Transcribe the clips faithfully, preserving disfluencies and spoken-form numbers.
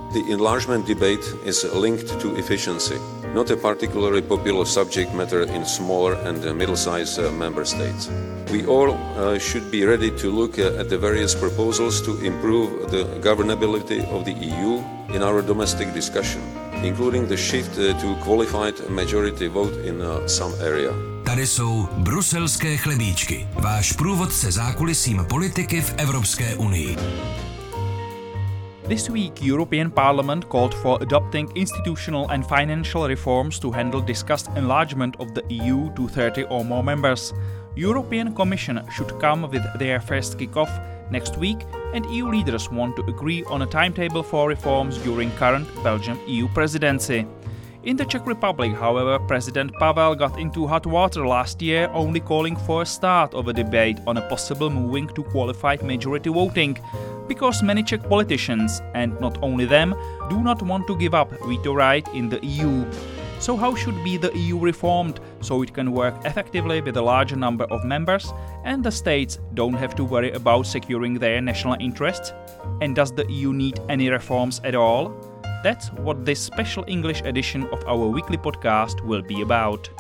The enlargement debate is linked to efficiency, not a particularly popular subject matter in smaller and middle-sized uh, member states. We all uh, should be ready to look uh, at the various proposals to improve the governability of the E U in our domestic discussion, including the shift uh, to qualified majority vote in uh, some area. Tady jsou bruselské chlebíčky, váš průvodce zákulisím politiky v Evropské unii. This week, European Parliament called for adopting institutional and financial reforms to handle discussed enlargement of the E U to thirty or more members. European Commission should come with their first kick-off next week, and E U leaders want to agree on a timetable for reforms during current Belgian E U presidency. In the Czech Republic, however, President Pavel got into hot water last year, only calling for a start of a debate on a possible moving to qualified majority voting, because many Czech politicians, and not only them, do not want to give up veto right in the E U. So how should be the E U reformed so it can work effectively with a larger number of members and the states don't have to worry about securing their national interests? And does the E U need any reforms at all? That's what this special English edition of our weekly podcast will be about.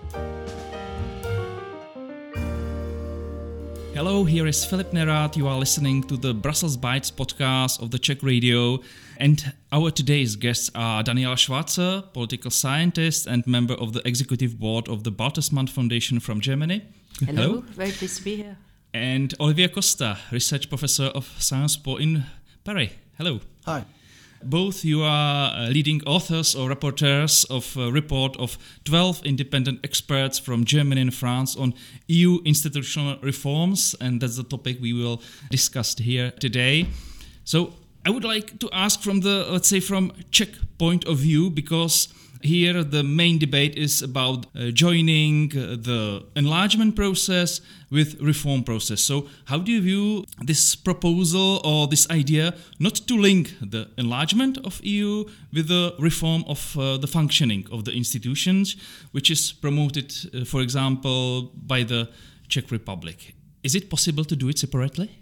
Hello, here is Filip Nerad. You are listening to the Brussels Bites podcast of the Czech Radio. And our today's guests are Daniela Schwarzer, political scientist and member of the executive board of the Bertelsmann Foundation from Germany. Hello, Hello. Very pleased to be here. And Olivier Costa, research professor of Sciences Po in Paris. Hello. Hi. Both you are uh, leading authors or rapporteurs of a report of twelve independent experts from Germany and France on E U institutional reforms, and that's the topic we will discuss here today. So I would like to ask from the, let's say, from Czech point of view, because here the main debate is about uh, joining uh, the enlargement process with reform process. So how do you view this proposal or this idea not to link the enlargement of E U with the reform of uh, the functioning of the institutions, which is promoted, uh, for example, by the Czech Republic? Is it possible to do it separately?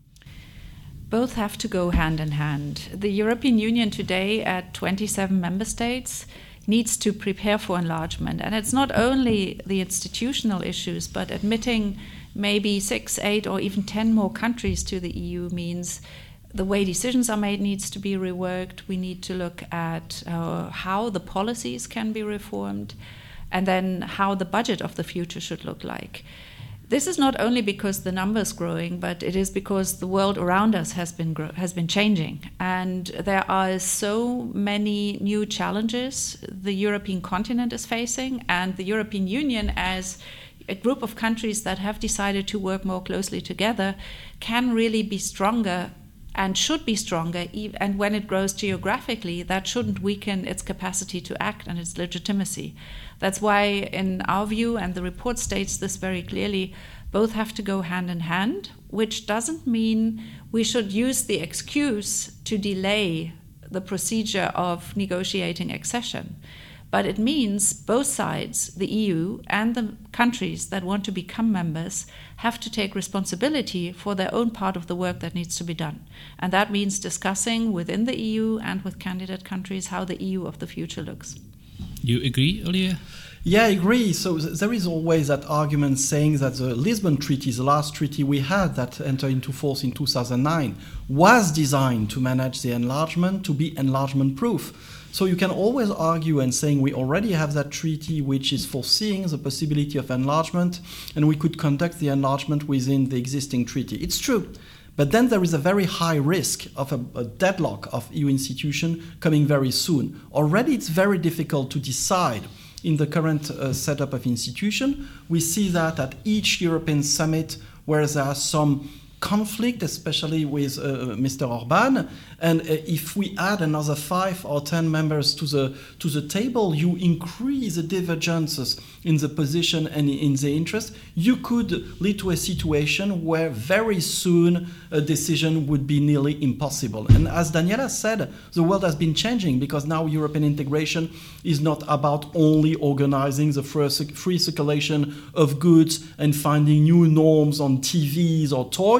Both have to go hand in hand. The European Union today at twenty-seven member states needs to prepare for enlargement. And it's not only the institutional issues, but admitting maybe six, eight, or even ten more countries to the E U means the way decisions are made needs to be reworked. We need to look at uh, how the policies can be reformed, and then how the budget of the future should look like. This is not only because the numbers growing, but it is because the world around us has been grow- has been changing, and there are so many new challenges the European continent is facing, and the European Union, as a group of countries that have decided to work more closely together, can really be stronger and should be stronger. And when it grows geographically, that shouldn't weaken its capacity to act and its legitimacy. That's why, in our view, and the report states this very clearly, both have to go hand in hand, which doesn't mean we should use the excuse to delay the procedure of negotiating accession. But it means both sides, the E U and the countries that want to become members, have to take responsibility for their own part of the work that needs to be done. And that means discussing within the E U and with candidate countries how the E U of the future looks. You agree, Olivier? Yeah, I agree. So th- there is always that argument saying that the Lisbon Treaty, the last treaty we had that entered into force in two thousand nine, was designed to manage the enlargement, to be enlargement-proof. So you can always argue and saying we already have that treaty which is foreseeing the possibility of enlargement, and we could conduct the enlargement within the existing treaty. It's true. But then there is a very high risk of a, a deadlock of E U institution coming very soon. Already it's very difficult to decide in the current uh, setup of institution. We see that at each European summit where there are some conflict, especially with uh, Mister Orbán, and uh, if we add another five or ten members to the to the table, you increase the divergences in the position and in the interest. You could lead to a situation where very soon a decision would be nearly impossible. And as Daniela said, the world has been changing because now European integration is not about only organizing the free circulation of goods and finding new norms on T Vs or toys.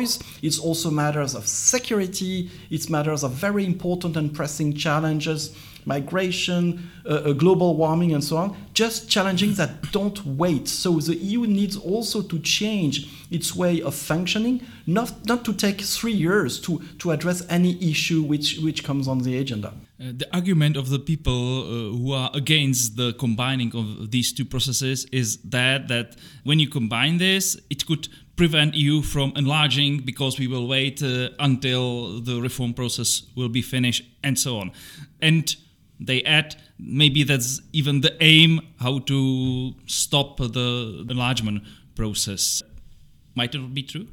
choice. It's also matters of security. It's matters of very important and pressing challenges, migration, uh, global warming, and so on, just challenging that don't wait. So the E U needs also to change its way of functioning, not, not to take three years to, to address any issue which, which comes on the agenda. Uh, the argument of the people uh, who are against the combining of these two processes is that, that when you combine this, it could prevent E U from enlarging because we will wait uh, until the reform process will be finished and so on. And they add, maybe that's even the aim, how to stop the enlargement process. Might it be true?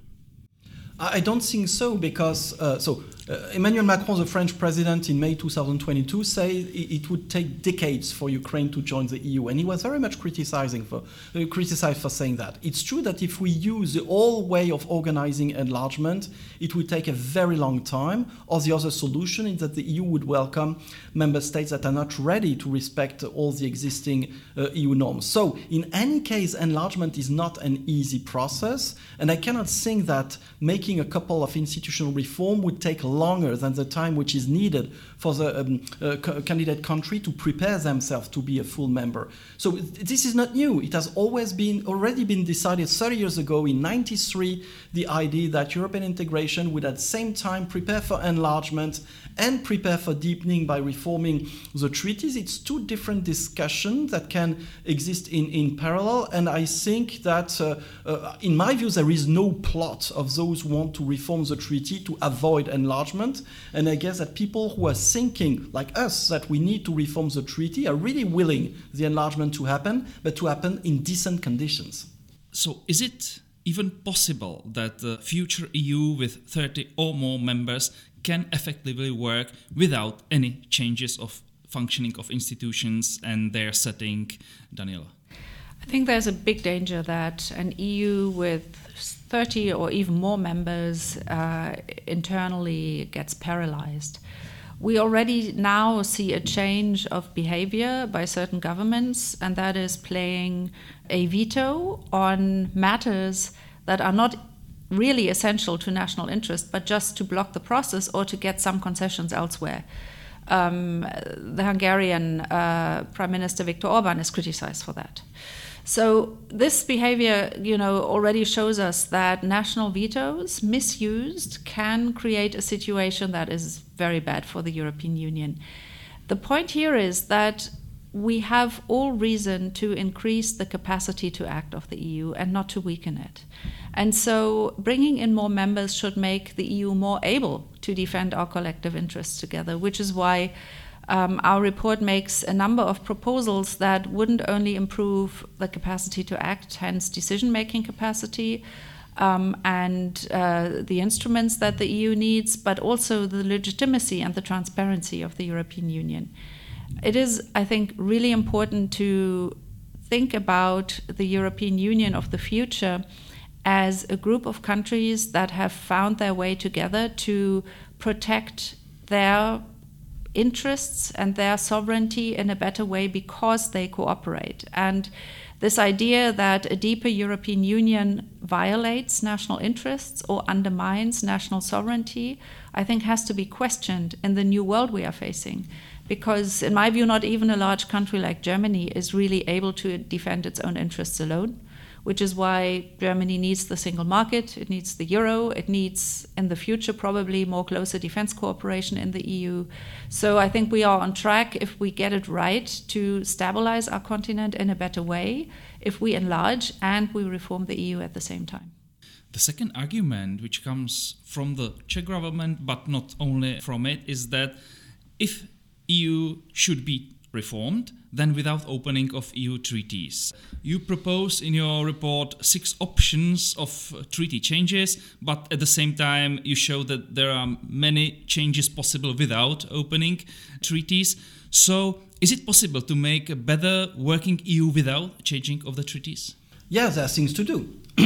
I don't think so, because uh, so uh, Emmanuel Macron, the French president, in May twenty twenty-two, said it would take decades for Ukraine to join the E U, and he was very much criticizing for uh, criticized for saying that. It's true that if we use the old way of organizing enlargement, it would take a very long time. Or the other solution is that the E U would welcome member states that are not ready to respect all the existing uh, E U norms. So, in any case, enlargement is not an easy process, and I cannot think that making a couple of institutional reform would take longer than the time which is needed for the um, uh, c- candidate country to prepare themselves to be a full member. So this is not new. It has always been already been decided thirty years ago in ninety-three, the idea that European integration would at the same time prepare for enlargement and prepare for deepening by reforming the treaties. It's two different discussions that can exist in, in parallel, and I think that, uh, uh, in my view, there is no plot of those who want to reform the treaty to avoid enlargement, and I guess that people who are thinking, like us, that we need to reform the treaty are really willing the enlargement to happen, but to happen in decent conditions. So is it even possible that the future E U with thirty or more members can effectively work without any changes of functioning of institutions and their setting? Daniela? I think there's a big danger that an E U with thirty or even more members uh, internally gets paralyzed. We already now see a change of behavior by certain governments, and that is playing a veto on matters that are not really essential to national interest, but just to block the process or to get some concessions elsewhere. Um, the Hungarian uh, Prime Minister Viktor Orban is criticized for that. So this behavior, you know, already shows us that national vetoes, misused, can create a situation that is very bad for the European Union. The point here is that we have all reason to increase the capacity to act of the E U and not to weaken it. And so bringing in more members should make the E U more able to defend our collective interests together, which is why Um, our report makes a number of proposals that wouldn't only improve the capacity to act, hence decision-making capacity, um, and uh, the instruments that the E U needs, but also the legitimacy and the transparency of the European Union. It is, I think, really important to think about the European Union of the future as a group of countries that have found their way together to protect their interests and their sovereignty in a better way because they cooperate. And this idea that a deeper European Union violates national interests or undermines national sovereignty, I think has to be questioned in the new world we are facing. Because in my view, not even a large country like Germany is really able to defend its own interests alone, which is why Germany needs the single market, it needs the euro, it needs, in the future, probably more closer defense cooperation in the E U. So I think we are on track if we get it right to stabilize our continent in a better way, if we enlarge and we reform the E U at the same time. The second argument, which comes from the Czech government, but not only from it, is that if E U should be reformed, then without opening of E U treaties. You propose in your report six options of treaty changes, but at the same time you show that there are many changes possible without opening treaties. So is it possible to make a better working E U without changing of the treaties? Yeah, there are things to do.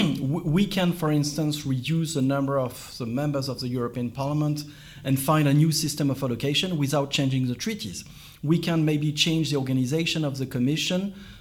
We can, for instance, reduce the number of the members of the European Parliament and find a new system of allocation without changing the treaties. We can maybe change the organization of the Commission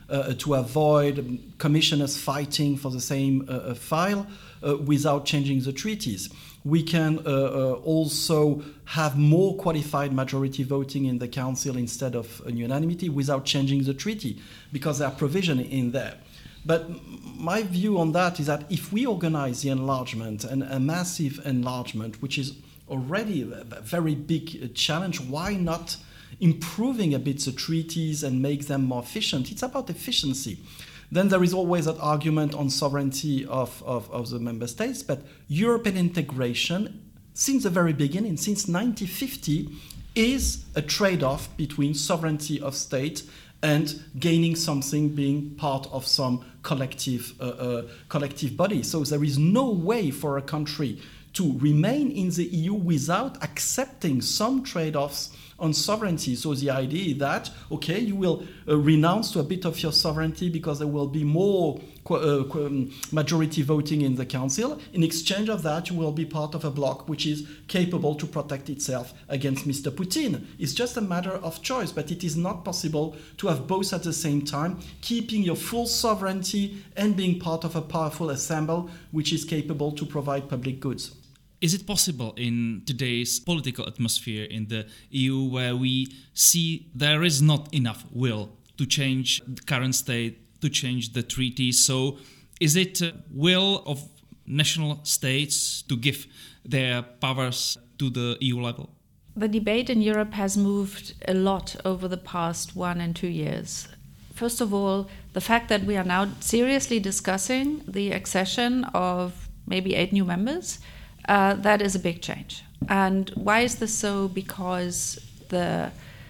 uh, to avoid commissioners fighting for the same uh, file uh, without changing the treaties. We can uh, uh, also have more qualified majority voting in the Council instead of unanimity without changing the treaty, because there are provisions in there. But my view on that is that if we organize the enlargement, and a massive enlargement, which is already a very big challenge, why not improving a bit the treaties and make them more efficient? It's about efficiency. Then there is always that argument on sovereignty of, of, of the member states, but European integration, since the very beginning, since nineteen fifty, is a trade-off between sovereignty of state and gaining something, being part of some collective, uh, uh, collective body. So there is no way for a country to remain in the E U without accepting some trade-offs on sovereignty. So the idea is that, okay, you will uh, renounce to a bit of your sovereignty because there will be more qu- uh, qu- majority voting in the Council. In exchange of that, you will be part of a bloc which is capable to protect itself against Mister Putin. It's just a matter of choice, but it is not possible to have both at the same time, keeping your full sovereignty and being part of a powerful assembly which is capable to provide public goods. Is it possible in today's political atmosphere in the E U, where we see there is not enough will to change the current state, to change the treaty? So is it a will of national states to give their powers to the E U level? The debate in Europe has moved a lot over the past one and two years. First of all, the fact that we are now seriously discussing the accession of maybe eight new members, Uh, that is a big change. And why is this so? Because the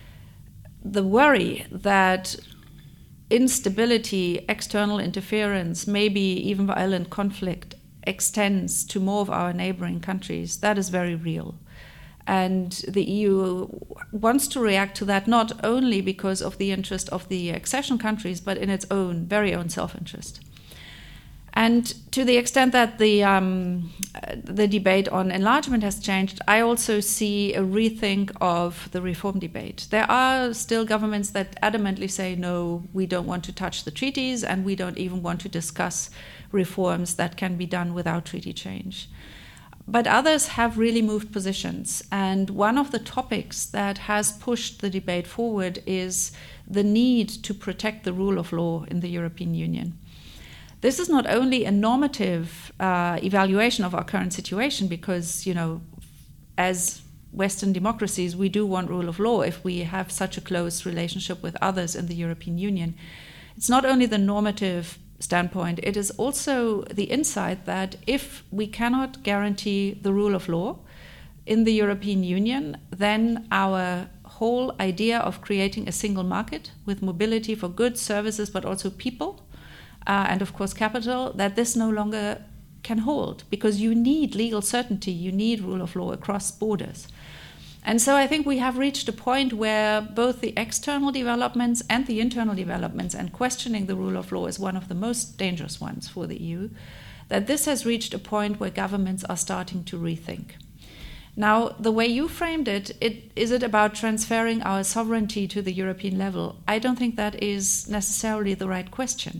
the worry that instability, external interference, maybe even violent conflict extends to more of our neighboring countries, that is very real. And the E U wants to react to that not only because of the interest of the accession countries, but in its own, very own self-interest. And to the extent that the um, the debate on enlargement has changed, I also see a rethink of the reform debate. There are still governments that adamantly say, no, we don't want to touch the treaties, and we don't even want to discuss reforms that can be done without treaty change. But others have really moved positions. And one of the topics that has pushed the debate forward is the need to protect the rule of law in the European Union. This is not only a normative uh, evaluation of our current situation, because, you know, as Western democracies, we do want rule of law if we have such a close relationship with others in the European Union. It's not only the normative standpoint, it is also the insight that if we cannot guarantee the rule of law in the European Union, then our whole idea of creating a single market with mobility for goods, services, but also people, Uh, and of course capital, that this no longer can hold, because you need legal certainty, you need rule of law across borders. And so I think we have reached a point where both the external developments and the internal developments, and questioning the rule of law is one of the most dangerous ones for the E U, that this has reached a point where governments are starting to rethink. Now, the way you framed it, it, is it about transferring our sovereignty to the European level? I don't think that is necessarily the right question.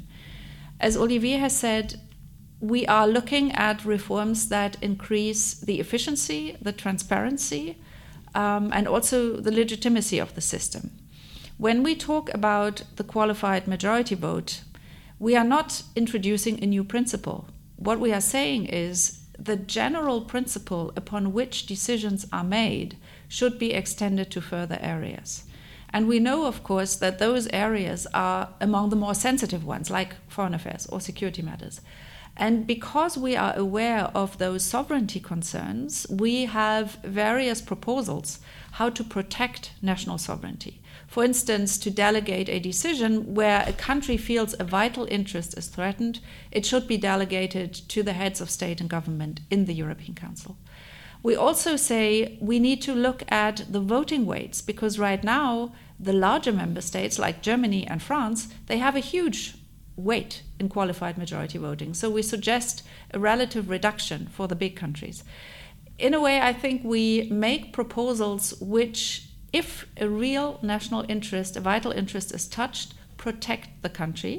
As Olivier has said, we are looking at reforms that increase the efficiency, the transparency, um, and also the legitimacy of the system. When we talk about the qualified majority vote, we are not introducing a new principle. What we are saying is the general principle upon which decisions are made should be extended to further areas. And we know, of course, that those areas are among the more sensitive ones, like foreign affairs or security matters. And because we are aware of those sovereignty concerns, we have various proposals how to protect national sovereignty. For instance, to delegate a decision where a country feels a vital interest is threatened, it should be delegated to the heads of state and government in the European Council. We also say we need to look at the voting weights, because right now the larger member states like Germany and France, they have a huge weight in qualified majority voting. So we suggest a relative reduction for the big countries. In a way, I think we make proposals which, if a real national interest, a vital interest is touched, protect the country.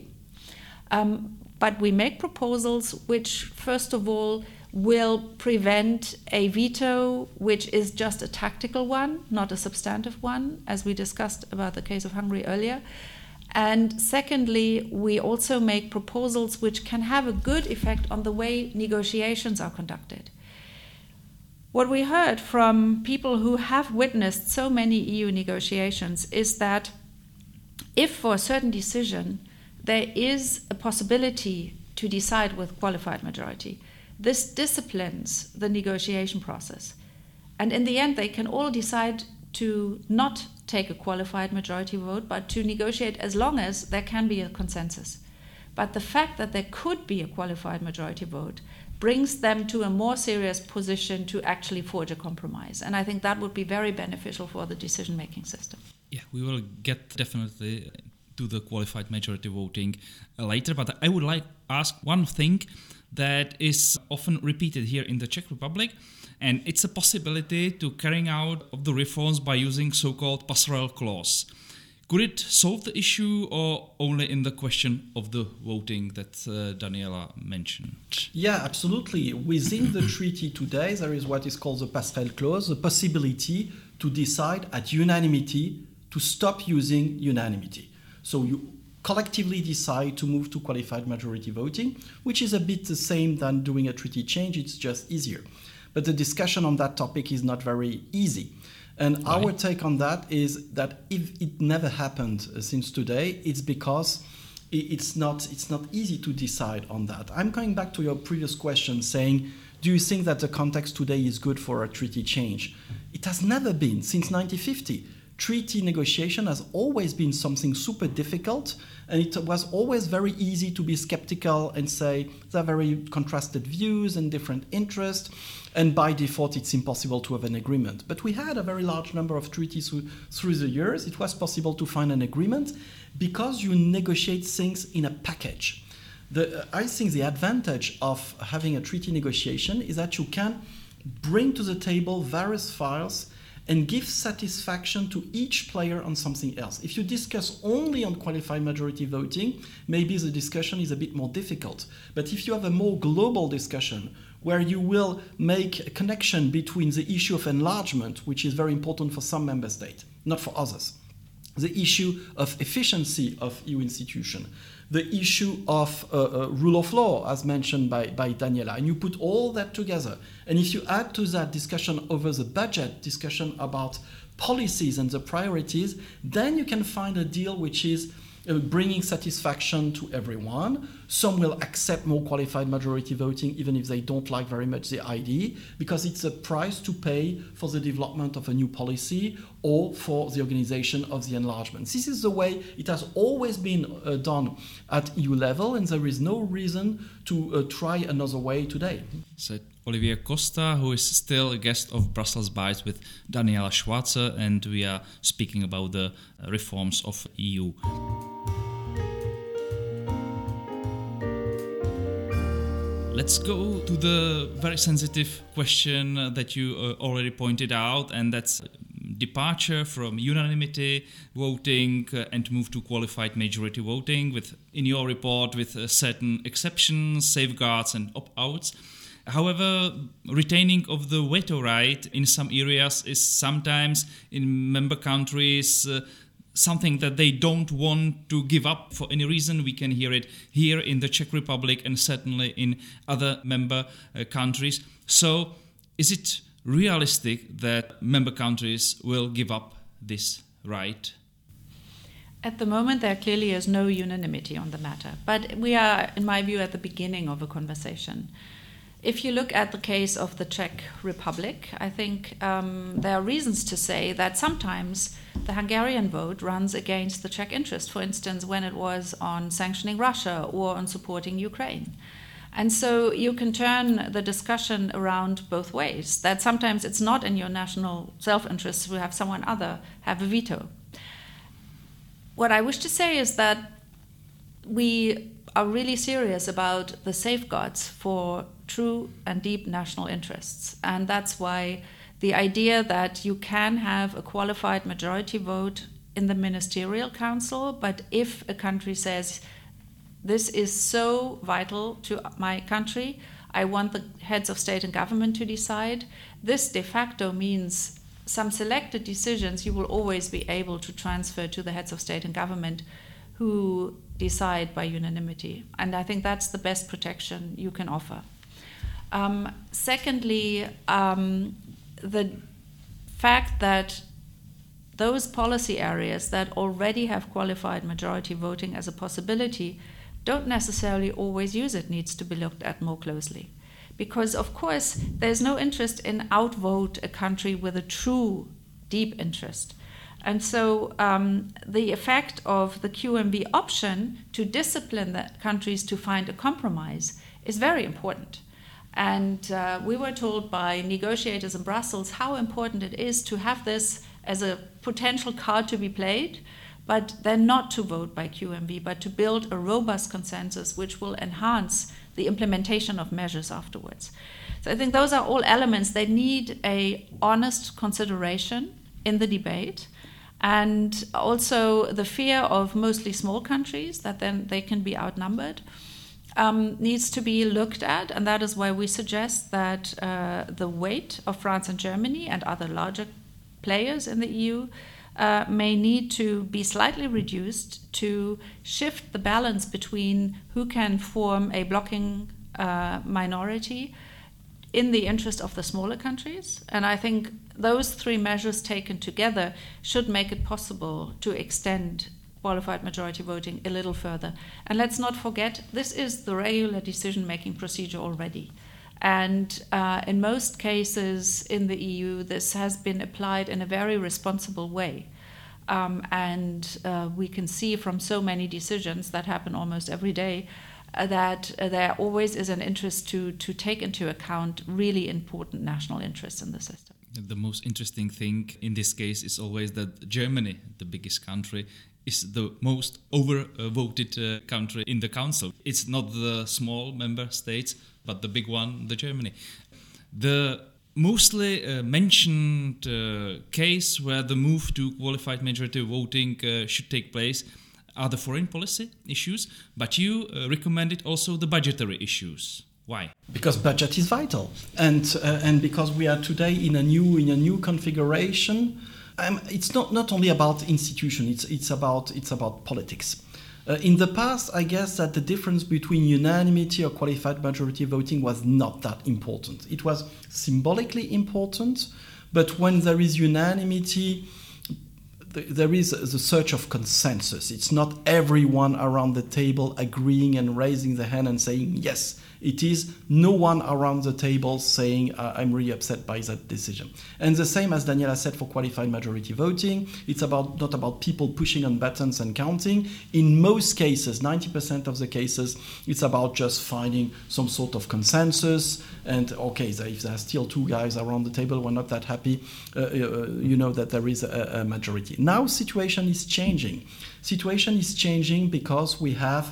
Um, but we make proposals which, first of all, will prevent a veto which is just a tactical one, not a substantive one, as we discussed about the case of Hungary earlier. And secondly, we also make proposals which can have a good effect on the way negotiations are conducted. What we heard from people who have witnessed so many E U negotiations is that if for a certain decision there is a possibility to decide with qualified majority, this disciplines the negotiation process. And in the end, they can all decide to not take a qualified majority vote, but to negotiate as long as there can be a consensus. But the fact that there could be a qualified majority vote brings them to a more serious position to actually forge a compromise. And I think that would be very beneficial for the decision-making system. Yeah, we will get definitely to the qualified majority voting later, but I would like to ask one thing that is often repeated here in the Czech Republic, and it's a possibility to carrying out of the reforms by using so-called passerelle clause. Could it solve the issue, or only in the question of the voting that uh, Daniela mentioned? Yeah, absolutely. Within the treaty today, there is what is called the passerelle clause, the possibility to decide at unanimity to stop using unanimity. So you collectively decide to move to qualified majority voting, which is a bit the same than doing a treaty change, it's just easier. But the discussion on that topic is not very easy. And right. Our take on that is that if it never happened uh, since today, it's because it's not, it's not easy to decide on that. I'm going back to your previous question saying, do you think that the context today is good for a treaty change? It has never been since nineteen fifty. Treaty negotiation has always been something super difficult, and it was always very easy to be skeptical and say there are very contrasted views and different interests, and by default it's impossible to have an agreement. But we had a very large number of treaties through, through the years. It was possible to find an agreement because you negotiate things in a package. The, uh, I think the advantage of having a treaty negotiation is that you can bring to the table various files and give satisfaction to each player on something else. If you discuss only on qualified majority voting, maybe the discussion is a bit more difficult. But if you have a more global discussion where you will make a connection between the issue of enlargement, which is very important for some member states, not for others, the issue of efficiency of E U institutions, the issue of uh, uh, rule of law, as mentioned by, by Daniela, and you put all that together. And if you add to that discussion over the budget, discussion about policies and the priorities, then you can find a deal which is uh, bringing satisfaction to everyone. Some will accept more qualified majority voting even if they don't like very much the idea, because it's a price to pay for the development of a new policy or for the organization of the enlargement. This is the way it has always been uh, done at E U level, and there is no reason to uh, try another way today. Said Olivier Costa, who is still a guest of Brussels Bites with Daniela Schwarzer, and we are speaking about the reforms of E U. Let's go to the very sensitive question that you uh, already pointed out, and that's departure from unanimity voting uh, and move to qualified majority voting, with, in your report, with uh, certain exceptions, safeguards and opt-outs. However, retaining of the veto right in some areas is sometimes in member countries uh, something that they don't want to give up for any reason. We can hear it here in the Czech Republic and certainly in other member uh, countries. So is it realistic that member countries will give up this right? At the moment, there clearly is no unanimity on the matter. But we are, in my view, at the beginning of a conversation. If you look at the case of the Czech Republic, I think um, there are reasons to say that sometimes the Hungarian vote runs against the Czech interest, for instance, when it was on sanctioning Russia or on supporting Ukraine. And so you can turn the discussion around both ways, that sometimes it's not in your national self-interest to have someone other have a veto. What I wish to say is that we are really serious about the safeguards for true and deep national interests. And that's why the idea that you can have a qualified majority vote in the Ministerial Council, but if a country says, this is so vital to my country, I want the heads of state and government to decide, this de facto means some selected decisions you will always be able to transfer to the heads of state and government who decide by unanimity. And I think that's the best protection you can offer. Um, secondly, um, the fact that those policy areas that already have qualified majority voting as a possibility don't necessarily always use it needs to be looked at more closely. Because, of course, there's no interest in outvote a country with a true deep interest. And so um, the effect of the Q M V option to discipline the countries to find a compromise is very important. And uh, we were told by negotiators in Brussels how important it is to have this as a potential card to be played, but then not to vote by Q M V, but to build a robust consensus which will enhance the implementation of measures afterwards. So I think those are all elements that need a honest consideration in the debate, and also the fear of mostly small countries that then they can be outnumbered um, needs to be looked at, and that is why we suggest that uh, the weight of France and Germany and other larger players in the E U uh, may need to be slightly reduced to shift the balance between who can form a blocking uh, minority in the interest of the smaller countries. And I think those three measures taken together should make it possible to extend qualified majority voting a little further. And let's not forget, this is the regular decision-making procedure already. And uh, in most cases in the E U, this has been applied in a very responsible way. Um, and uh, we can see from so many decisions that happen almost every day uh, that uh, there always is an interest to, to take into account really important national interests in the system. The most interesting thing in this case is always that Germany, the biggest country, is the most over-voted uh, country in the Council. It's not the small member states, but the big one, the Germany. The mostly uh, mentioned uh, case where the move to qualified majority voting uh, should take place are the foreign policy issues, but you uh, recommended also the budgetary issues. Why? Because budget is vital, and uh, and because we are today in a new in a new configuration. Um, it's not, not only about institution. It's it's about it's about politics. Uh, in the past, I guess that the difference between unanimity or qualified majority voting was not that important. It was symbolically important, but when there is unanimity, th- there is the search of consensus. It's not everyone around the table agreeing and raising the hand and saying yes. It is no one around the table saying, uh, I'm really upset by that decision. And the same as Daniela said for qualified majority voting, it's about not about people pushing on buttons and counting. In most cases, ninety percent of the cases, it's about just finding some sort of consensus. And okay, so if there are still two guys around the table who are not that happy, uh, uh, you know that there is a, a majority. Now situation is changing. Situation is changing because we have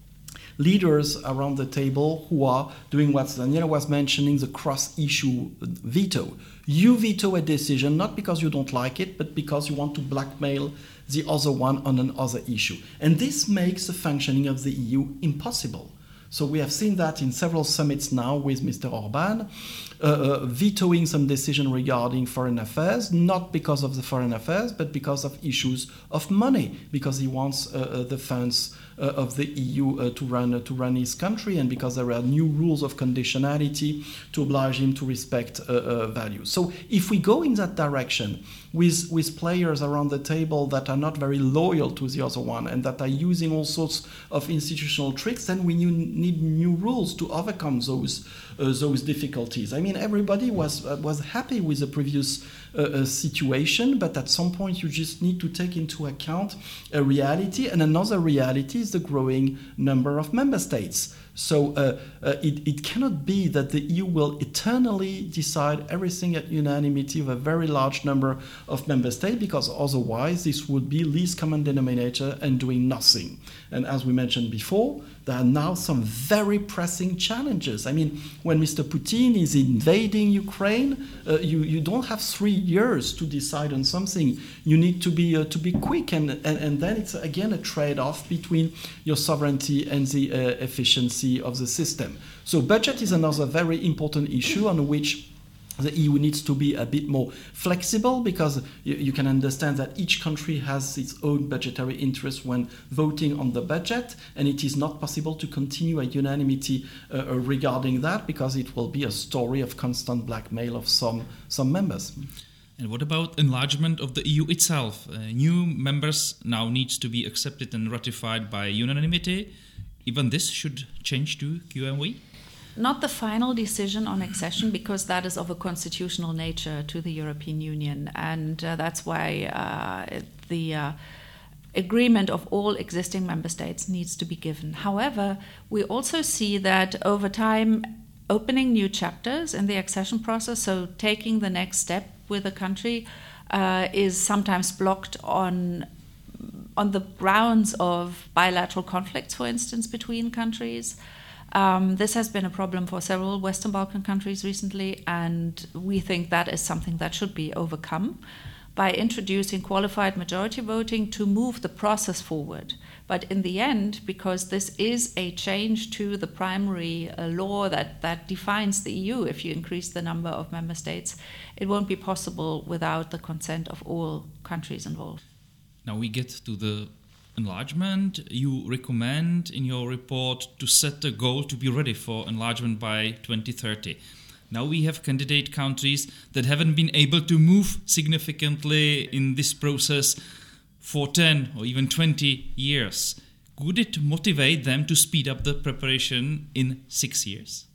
leaders around the table who are doing what Daniela was mentioning, the cross-issue veto. You veto a decision not because you don't like it, but because you want to blackmail the other one on another issue. And this makes the functioning of the E U impossible. So we have seen that in several summits now with Mister Orban, uh, uh, vetoing some decision regarding foreign affairs, not because of the foreign affairs, but because of issues of money, because he wants uh, uh, the funds uh, of the E U uh, to run uh, to run his country, and because there are new rules of conditionality to oblige him to respect uh, uh, values. So if we go in that direction with with players around the table that are not very loyal to the other one and that are using all sorts of institutional tricks, then we need new rules to overcome those uh, those difficulties. I mean, everybody was uh, was happy with the previous uh, uh, situation, but at some point you just need to take into account a reality, and another reality is the growing number of member states. So uh, uh, it, it cannot be that the E U will eternally decide everything at unanimity of a very large number of member states, because otherwise this would be least common denominator and doing nothing. And as we mentioned before, there are now some very pressing challenges. I mean, when Mister Putin is invading Ukraine, uh, you, you don't have three years to decide on something. You need to be uh, to be quick, and, and and then it's again a trade-off between your sovereignty and the uh, efficiency of the system. So budget is another very important issue on which the E U needs to be a bit more flexible, because you, you can understand that each country has its own budgetary interest when voting on the budget, and it is not possible to continue a unanimity uh, regarding that, because it will be a story of constant blackmail of some, some members. And what about enlargement of the E U itself? Uh, new members now needs to be accepted and ratified by unanimity. Even this should change to Q M V? Not the final decision on accession, because that is of a constitutional nature to the European Union, and uh, that's why uh, the uh, agreement of all existing member states needs to be given. However, we also see that over time, opening new chapters in the accession process, so taking the next step with a country, uh, is sometimes blocked on on the grounds of bilateral conflicts, for instance, between countries. Um, this has been a problem for several Western Balkan countries recently, and we think that is something that should be overcome by introducing qualified majority voting to move the process forward. But in the end, because this is a change to the primary uh, law that, that defines the E U, if you increase the number of member states, it won't be possible without the consent of all countries involved. Now we get to the enlargement. You recommend in your report to set a goal to be ready for enlargement by twenty thirty. Now we have candidate countries that haven't been able to move significantly in this process for ten or even twenty years. Could it motivate them to speed up the preparation in six years?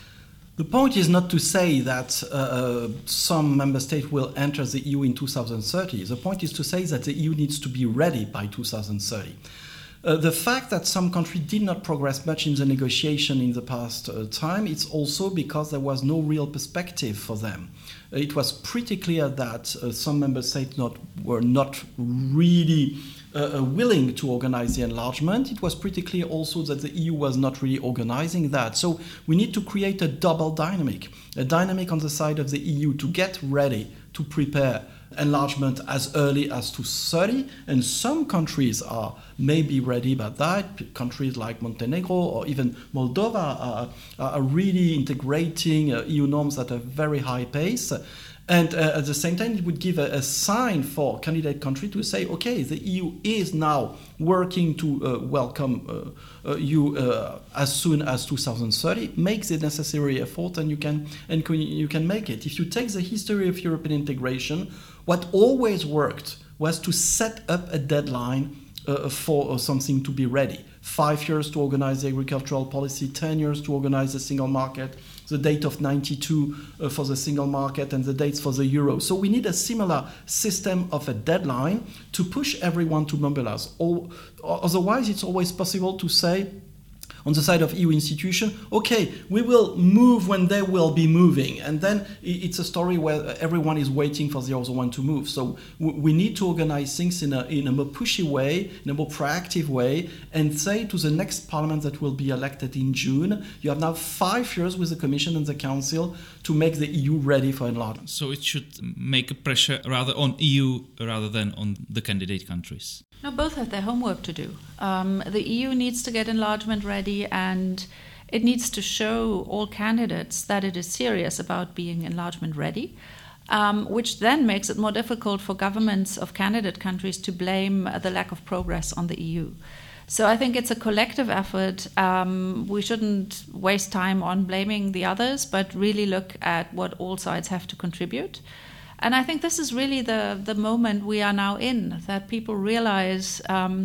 The point is not to say that uh, some member state will enter the E U in two thousand thirty. The point is to say that the E U needs to be ready by two thousand thirty. Uh, the fact that some countries did not progress much in the negotiation in the past uh, time, it's also because there was no real perspective for them. Uh, it was pretty clear that uh, some member states not, were not really uh, willing to organize the enlargement. It was pretty clear also that the E U was not really organizing that. So we need to create a double dynamic, a dynamic on the side of the E U to get ready to prepare enlargement as early as two thousand thirty, and some countries are maybe ready by that. Countries like Montenegro or even Moldova are, are really integrating uh, E U norms at a very high pace. And uh, at the same time, it would give a, a sign for candidate country to say, okay, the E U is now working to uh, welcome uh, uh, you uh, as soon as two thousand thirty. Make the necessary effort, and you can and you can make it. If you take the history of European integration, what always worked was to set up a deadline uh, for uh, something to be ready. Five years to organize the agricultural policy, ten years to organize the single market, the date of ninety-two uh, for the single market, and the dates for the euro. So we need a similar system of a deadline to push everyone to mobilize. All, otherwise, it's always possible to say, on the side of E U institution, okay, we will move when they will be moving. And then it's a story where everyone is waiting for the other one to move. So we need to organize things in a, in a more pushy way, in a more proactive way, and say to the next parliament that will be elected in June, you have now five years with the Commission and the Council to make the E U ready for enlargement. So it should make a pressure rather on E U rather than on the candidate countries. No, both have their homework to do. Um, the E U needs to get enlargement ready, and it needs to show all candidates that it is serious about being enlargement ready, um, which then makes it more difficult for governments of candidate countries to blame the lack of progress on the E U. So I think it's a collective effort. Um, we shouldn't waste time on blaming the others, but really look at what all sides have to contribute. And I think this is really the, the moment we are now in, that people realize um,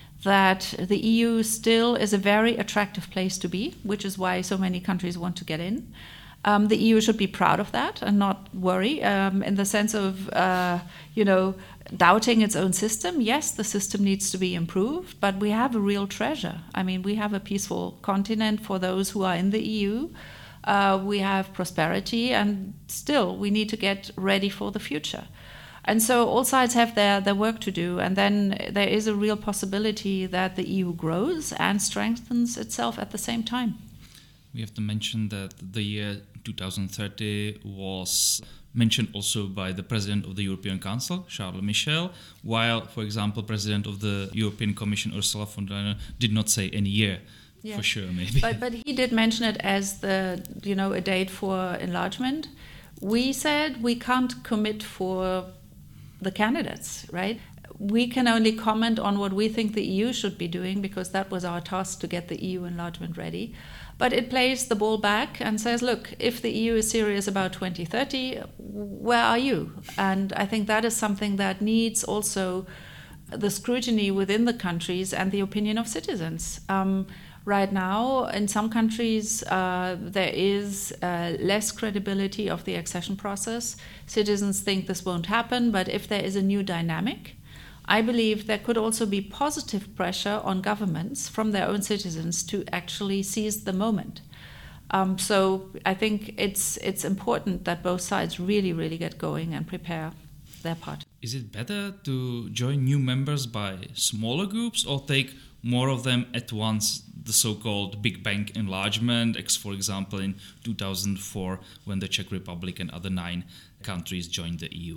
that the E U still is a very attractive place to be, which is why so many countries want to get in. Um, the E U should be proud of that and not worry um, in the sense of, uh, you know, doubting its own system. Yes, the system needs to be improved, but we have a real treasure. I mean, we have a peaceful continent for those who are in the E U. Uh, we have prosperity, and still we need to get ready for the future. And so all sides have their, their work to do, and then there is a real possibility that the E U grows and strengthens itself at the same time. We have to mention that the year two thousand thirty was mentioned also by the President of the European Council, Charles Michel, while, for example, President of the European Commission, Ursula von der Leyen, did not say any year. Yeah. For sure, maybe. But, but he did mention it as the, you know, a date for enlargement. We said we can't commit for the candidates, right? We can only comment on what we think the E U should be doing, because that was our task to get the E U enlargement ready. But it plays the ball back and says, look, if the E U is serious about twenty thirty, where are you? And I think that is something that needs also the scrutiny within the countries and the opinion of citizens. Um, right now, in some countries, uh, there is uh, less credibility of the accession process. Citizens think this won't happen, but if there is a new dynamic, I believe there could also be positive pressure on governments from their own citizens to actually seize the moment. Um, so I think it's it's important that both sides really, really get going and prepare their part. Is it better to join new members by smaller groups or take more of them at once, the so-called Big Bang enlargement, ex, for example, in two thousand four, when the Czech Republic and other nine countries joined the E U?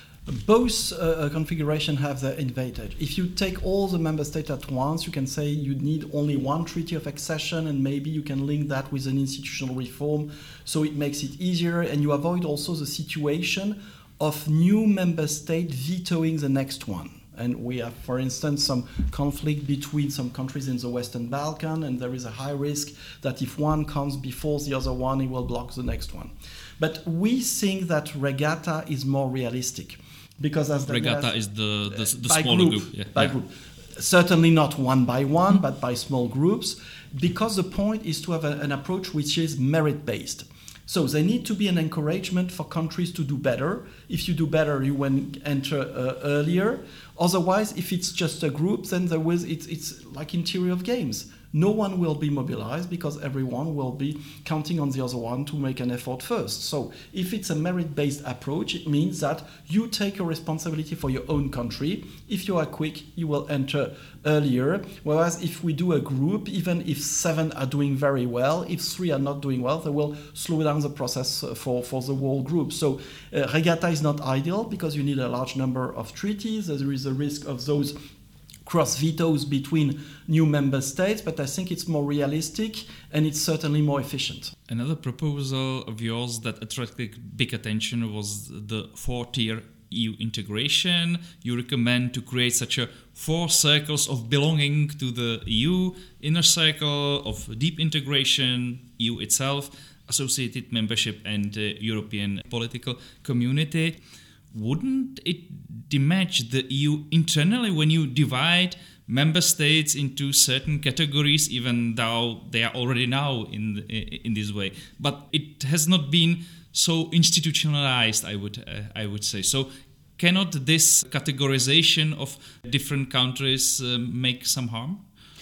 Both uh, configuration have their advantage. If you take all the member states at once, you can say you need only one treaty of accession, and maybe you can link that with an institutional reform, so it makes it easier, and you avoid also the situation of new member state vetoing the next one. And we have, for instance, some conflict between some countries in the Western Balkans, and there is a high risk that if one comes before the other one, it will block the next one. But we think that regatta is more realistic. Because as regatta has, is the, the, the by smaller group. group. Yeah. By yeah. group. Certainly not one by one, mm-hmm. but by small groups, because the point is to have a, an approach which is merit-based. So there need to be an encouragement for countries to do better. If you do better, you will enter uh, earlier. Otherwise, if it's just a group, then there was it's, it's like in theory of games. No one will be mobilized because everyone will be counting on the other one to make an effort first. So if it's a merit-based approach, it means that you take a responsibility for your own country. If you are quick, you will enter earlier. Whereas if we do a group, even if seven are doing very well, if three are not doing well, they will slow down the process for, for the whole group. So uh, regatta is not ideal because you need a large number of treaties. There is a risk of those cross vetoes between new member states, but I think it's more realistic and it's certainly more efficient. Another proposal of yours that attracted big attention was the four-tier E U integration. You recommend to create such a four circles of belonging to the E U, inner circle of deep integration, E U itself, associated membership and uh, European political community. Wouldn't it damage the E U internally when you divide member states into certain categories, even though they are already now in in this way? But it has not been so institutionalized, I would uh, I would say. So cannot this categorization of different countries uh, make some harm?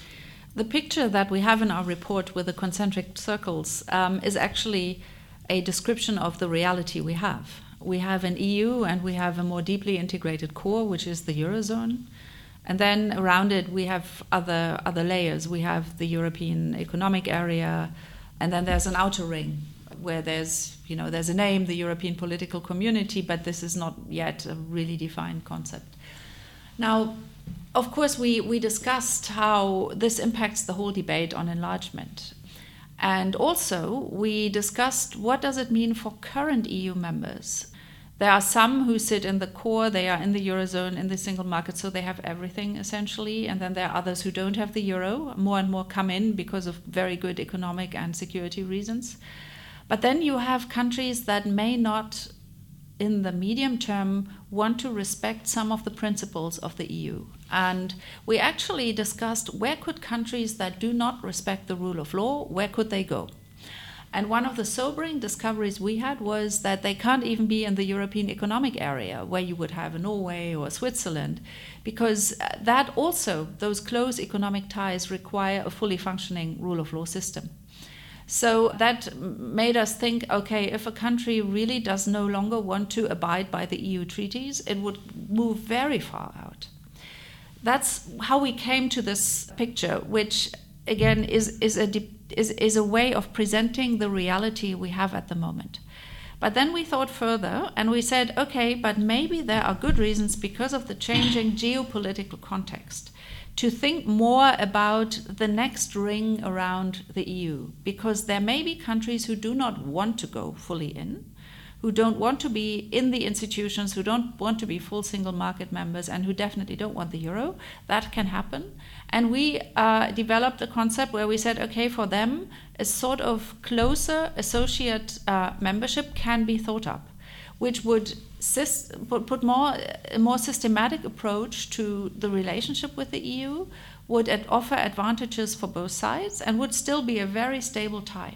The picture that we have in our report with the concentric circles um, is actually a description of the reality we have. We have an E U and we have a more deeply integrated core, which is the Eurozone. And then around it we have other other layers. We have the European Economic Area, and then there's an outer ring where there's, you know, there's a name, the European Political Community, but this is not yet a really defined concept. Now, of course, we, we discussed how this impacts the whole debate on enlargement. And also, we discussed what does it mean for current E U members. There are some who sit in the core, they are in the Eurozone, in the single market, so they have everything essentially. And then there are others who don't have the Euro. More and more come in because of very good economic and security reasons. But then you have countries that may not, in the medium term, want to respect some of the principles of the E U. And we actually discussed where could countries that do not respect the rule of law, where could they go? And one of the sobering discoveries we had was that they can't even be in the European Economic Area, where you would have a Norway or Switzerland, because that also, those close economic ties require a fully functioning rule of law system. So that made us think, okay, if a country really does no longer want to abide by the E U treaties, it would move very far out. That's how we came to this picture, which again is, is a de- is, is a way of presenting the reality we have at the moment. But then we thought further and we said, okay, but maybe there are good reasons because of the changing geopolitical context to think more about the next ring around the E U, because there may be countries who do not want to go fully in, who don't want to be in the institutions, who don't want to be full single market members, and who definitely don't want the euro. That can happen. And we uh, developed a concept where we said, okay, for them, a sort of closer associate uh, membership can be thought up, which would syst- put more, a more systematic approach to the relationship with the E U, would ad- offer advantages for both sides, and would still be a very stable tie.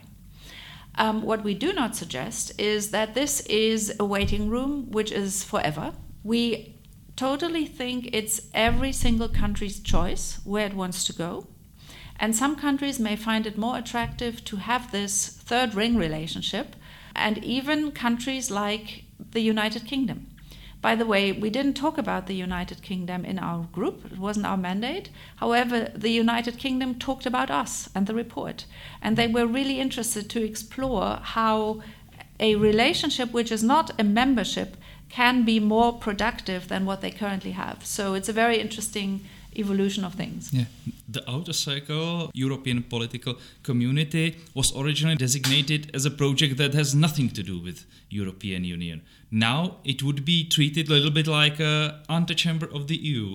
Um, what we do not suggest is that this is a waiting room which is forever. We totally think it's every single country's choice where it wants to go. And some countries may find it more attractive to have this third ring relationship, and even countries like the United Kingdom. By the way, we didn't talk about the United Kingdom in our group. It wasn't our mandate. However, the United Kingdom talked about us and the report. And they were really interested to explore how a relationship which is not a membership can be more productive than what they currently have. So it's a very interesting evolution of things. Yeah. The Outer Circle European Political Community was originally designated as a project that has nothing to do with European Union. Now it would be treated a little bit like an antechamber of the E U,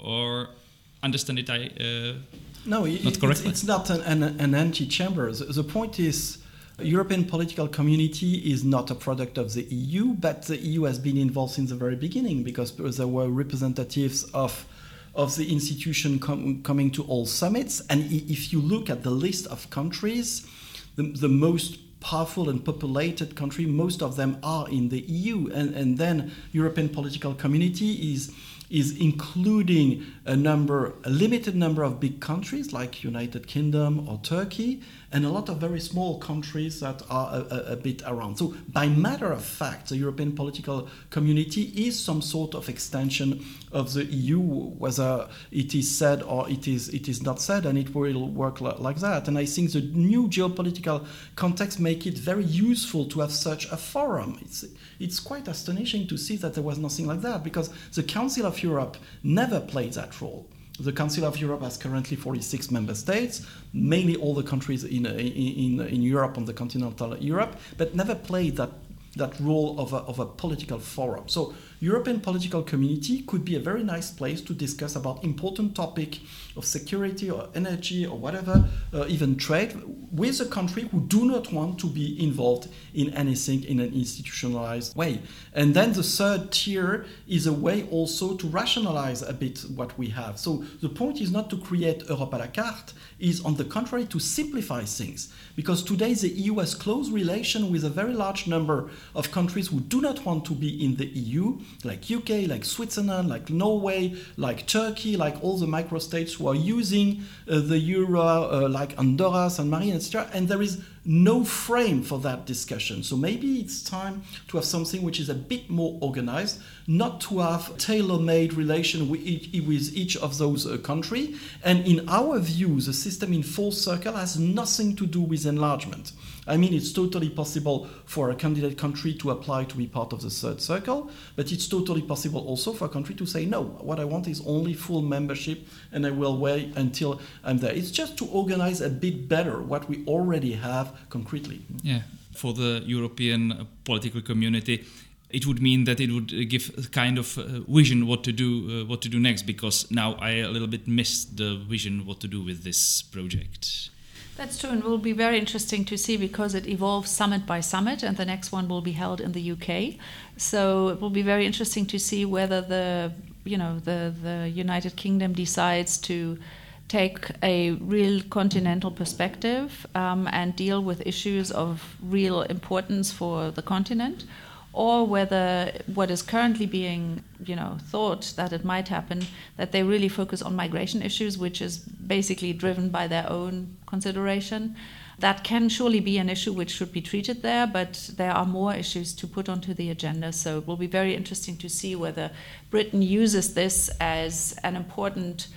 or understand it I uh, no, it, not correctly? It's, it's not an, an, an antechamber. The, the point is, European political community is not a product of the E U, but the E U has been involved since the very beginning, because there were representatives of of the institution com- coming to all summits. And if you look at the list of countries, the, the most powerful and populated country, most of them are in the E U. And, and then European political community is is including a number, a limited number of big countries like United Kingdom or Turkey, and a lot of very small countries that are a, a, a bit around. So by matter of fact, the European political community is some sort of extension of the E U, whether it is said or it is it is not said, and it will work li- like that. And I think the new geopolitical context make it very useful to have such a forum. It's it's quite astonishing to see that there was nothing like that, because the Council of Europe never played that role. The Council of Europe has currently forty-six member states, mainly all the countries in in in Europe, on the continental Europe, but never played that that role of a, of a political forum. So European political community could be a very nice place to discuss about important topic of security or energy or whatever, uh, even trade, with a country who do not want to be involved in anything in an institutionalized way. And then the third tier is a way also to rationalize a bit what we have. So the point is not to create Europe à la carte, is on the contrary to simplify things. Because today the E U has close relation with a very large number of countries who do not want to be in the E U, like U K, like Switzerland, like Norway, like Turkey, like all the microstates who are using uh, the euro, uh, like Andorra, San Marino, et cetera. And there is no frame for that discussion. So maybe it's time to have something which is a bit more organized, not to have tailor-made relation with each, with each of those uh, countries. And in our view, the system in full circle has nothing to do with enlargement. I mean, it's totally possible for a candidate country to apply to be part of the third circle, but it's totally possible also for a country to say, no, what I want is only full membership, and I will wait until I'm there. It's just to organize a bit better what we already have concretely. Yeah, for the European political community, it would mean that it would give a kind of uh, vision what to do, uh, what to do next. Because now I a little bit missed the vision what to do with this project. That's true, and it will be very interesting to see, because it evolves summit by summit, and the next one will be held in the U K. So it will be very interesting to see whether the, you know, the the United Kingdom decides to take a real continental perspective um, and deal with issues of real importance for the continent, or whether what is currently being, you know, thought that it might happen, that they really focus on migration issues, which is basically driven by their own consideration. That can surely be an issue which should be treated there, but there are more issues to put onto the agenda. So it will be very interesting to see whether Britain uses this as an important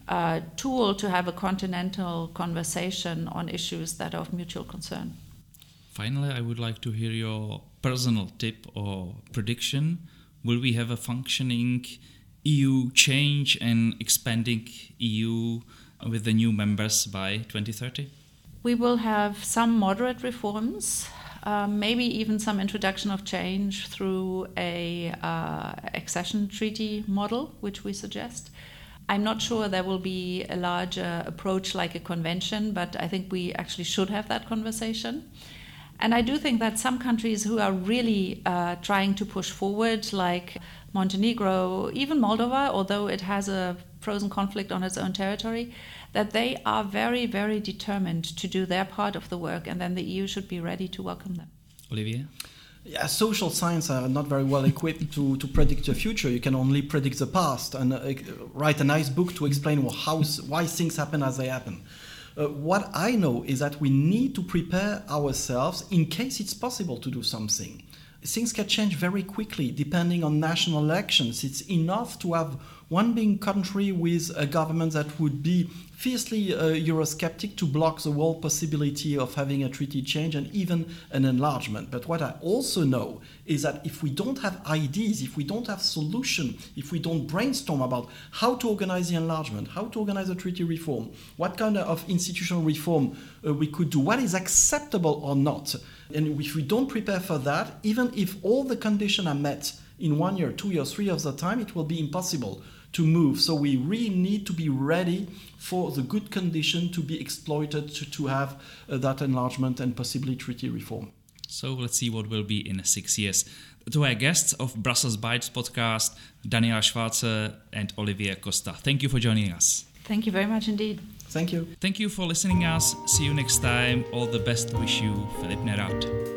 uh, tool to have a continental conversation on issues that are of mutual concern. Finally, I would like to hear your personal tip or prediction. Will we have a functioning E U change and expanding E U with the new members by twenty thirty? We will have some moderate reforms, uh, maybe even some introduction of change through a uh, accession treaty model, which we suggest. I'm not sure there will be a larger approach like a convention, but I think we actually should have that conversation. And I do think that some countries who are really uh, trying to push forward, like Montenegro, even Moldova, although it has a frozen conflict on its own territory, that they are very, very determined to do their part of the work, and then the E U should be ready to welcome them. Olivier? Yeah, social science are not very well equipped to, to predict the future. You can only predict the past and uh, write a nice book to explain how, why things happen as they happen. Uh, what I know is that we need to prepare ourselves in case it's possible to do something. Things can change very quickly depending on national elections. It's enough to have one big country with a government that would be fiercely uh, Eurosceptic to block the whole possibility of having a treaty change and even an enlargement. But what I also know is that if we don't have ideas, if we don't have solutions, if we don't brainstorm about how to organize the enlargement, how to organize a treaty reform, what kind of institutional reform uh, we could do, what is acceptable or not, and if we don't prepare for that, even if all the conditions are met in one year, two years, three years of time, it will be impossible to move. So we really need to be ready for the good condition to be exploited to, to have uh, that enlargement and possibly treaty reform. So let's see what will be in six years. To our guests of Brussels Bites podcast, Daniela Schwarze and Olivier Costa. Thank you for joining us. Thank you very much indeed. Thank you. Thank you for listening us. See you next time. All the best wish you, Filip Nerad.